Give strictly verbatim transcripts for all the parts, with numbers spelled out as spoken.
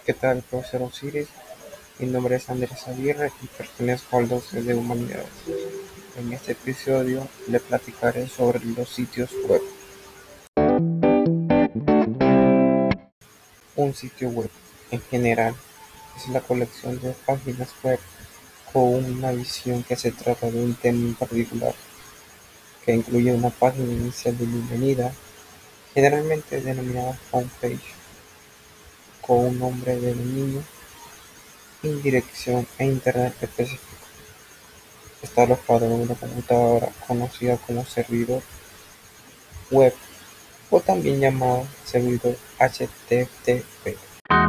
¿Qué tal, profesor Osiris? Mi nombre es Andrés Aguirre y pertenezco al doce de Humanidades. En este episodio le platicaré sobre los sitios web. Un sitio web, en general, es la colección de páginas web con una visión que se trata de un tema en particular, que incluye una página inicial de bienvenida, generalmente denominada homepage, con un nombre de dominio, indirección e internet específico. Está alojado en una computadora conocida como servidor web o también llamado servidor H T T P.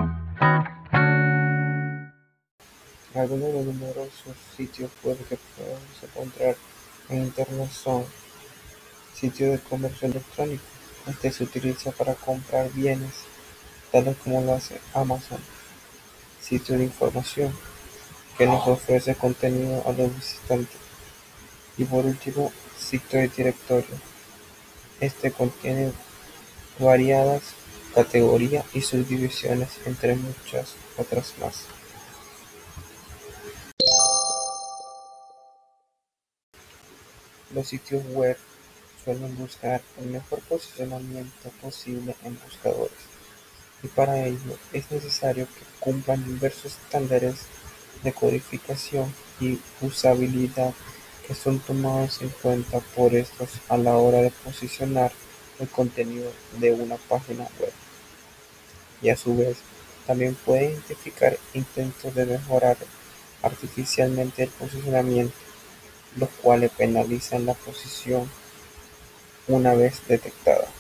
Algunos de los numerosos sitios web que podemos encontrar en Internet son sitios de comercio electrónico. Este se utiliza para comprar bienes, tales como lo hace Amazon. Sitio de información, que nos ofrece contenido a los visitantes. Y por último, sitio de directorio. Este contiene variadas categorías y subdivisiones, entre muchas otras más. Los sitios web suelen buscar el mejor posicionamiento posible en buscadores, y para ello es necesario que cumplan diversos estándares de codificación y usabilidad que son tomados en cuenta por estos a la hora de posicionar el contenido de una página web. Y a su vez también puede identificar intentos de mejorar artificialmente el posicionamiento, los cuales penalizan la posición una vez detectada.